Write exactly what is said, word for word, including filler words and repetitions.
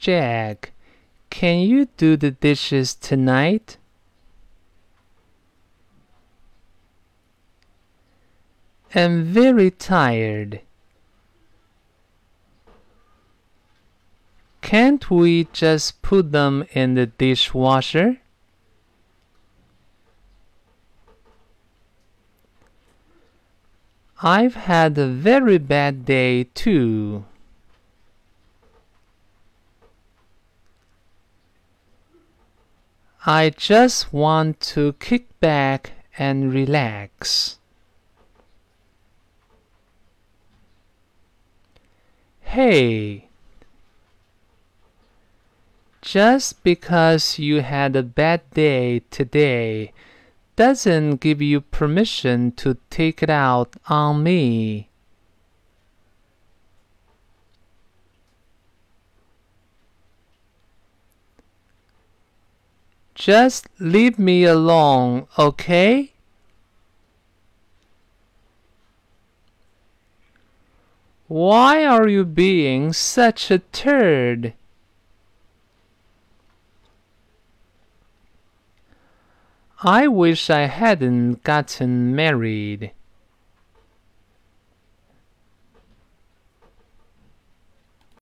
Jack, can you do the dishes tonight? I'm very tired. Can't we just put them in the dishwasher? I've had a very bad day too. I just want to kick back and relax. Hey, just because you had a bad day today doesn't give you permission to take it out on me. Just leave me alone, okay? Why are you being such a turd? I wish I hadn't gotten married.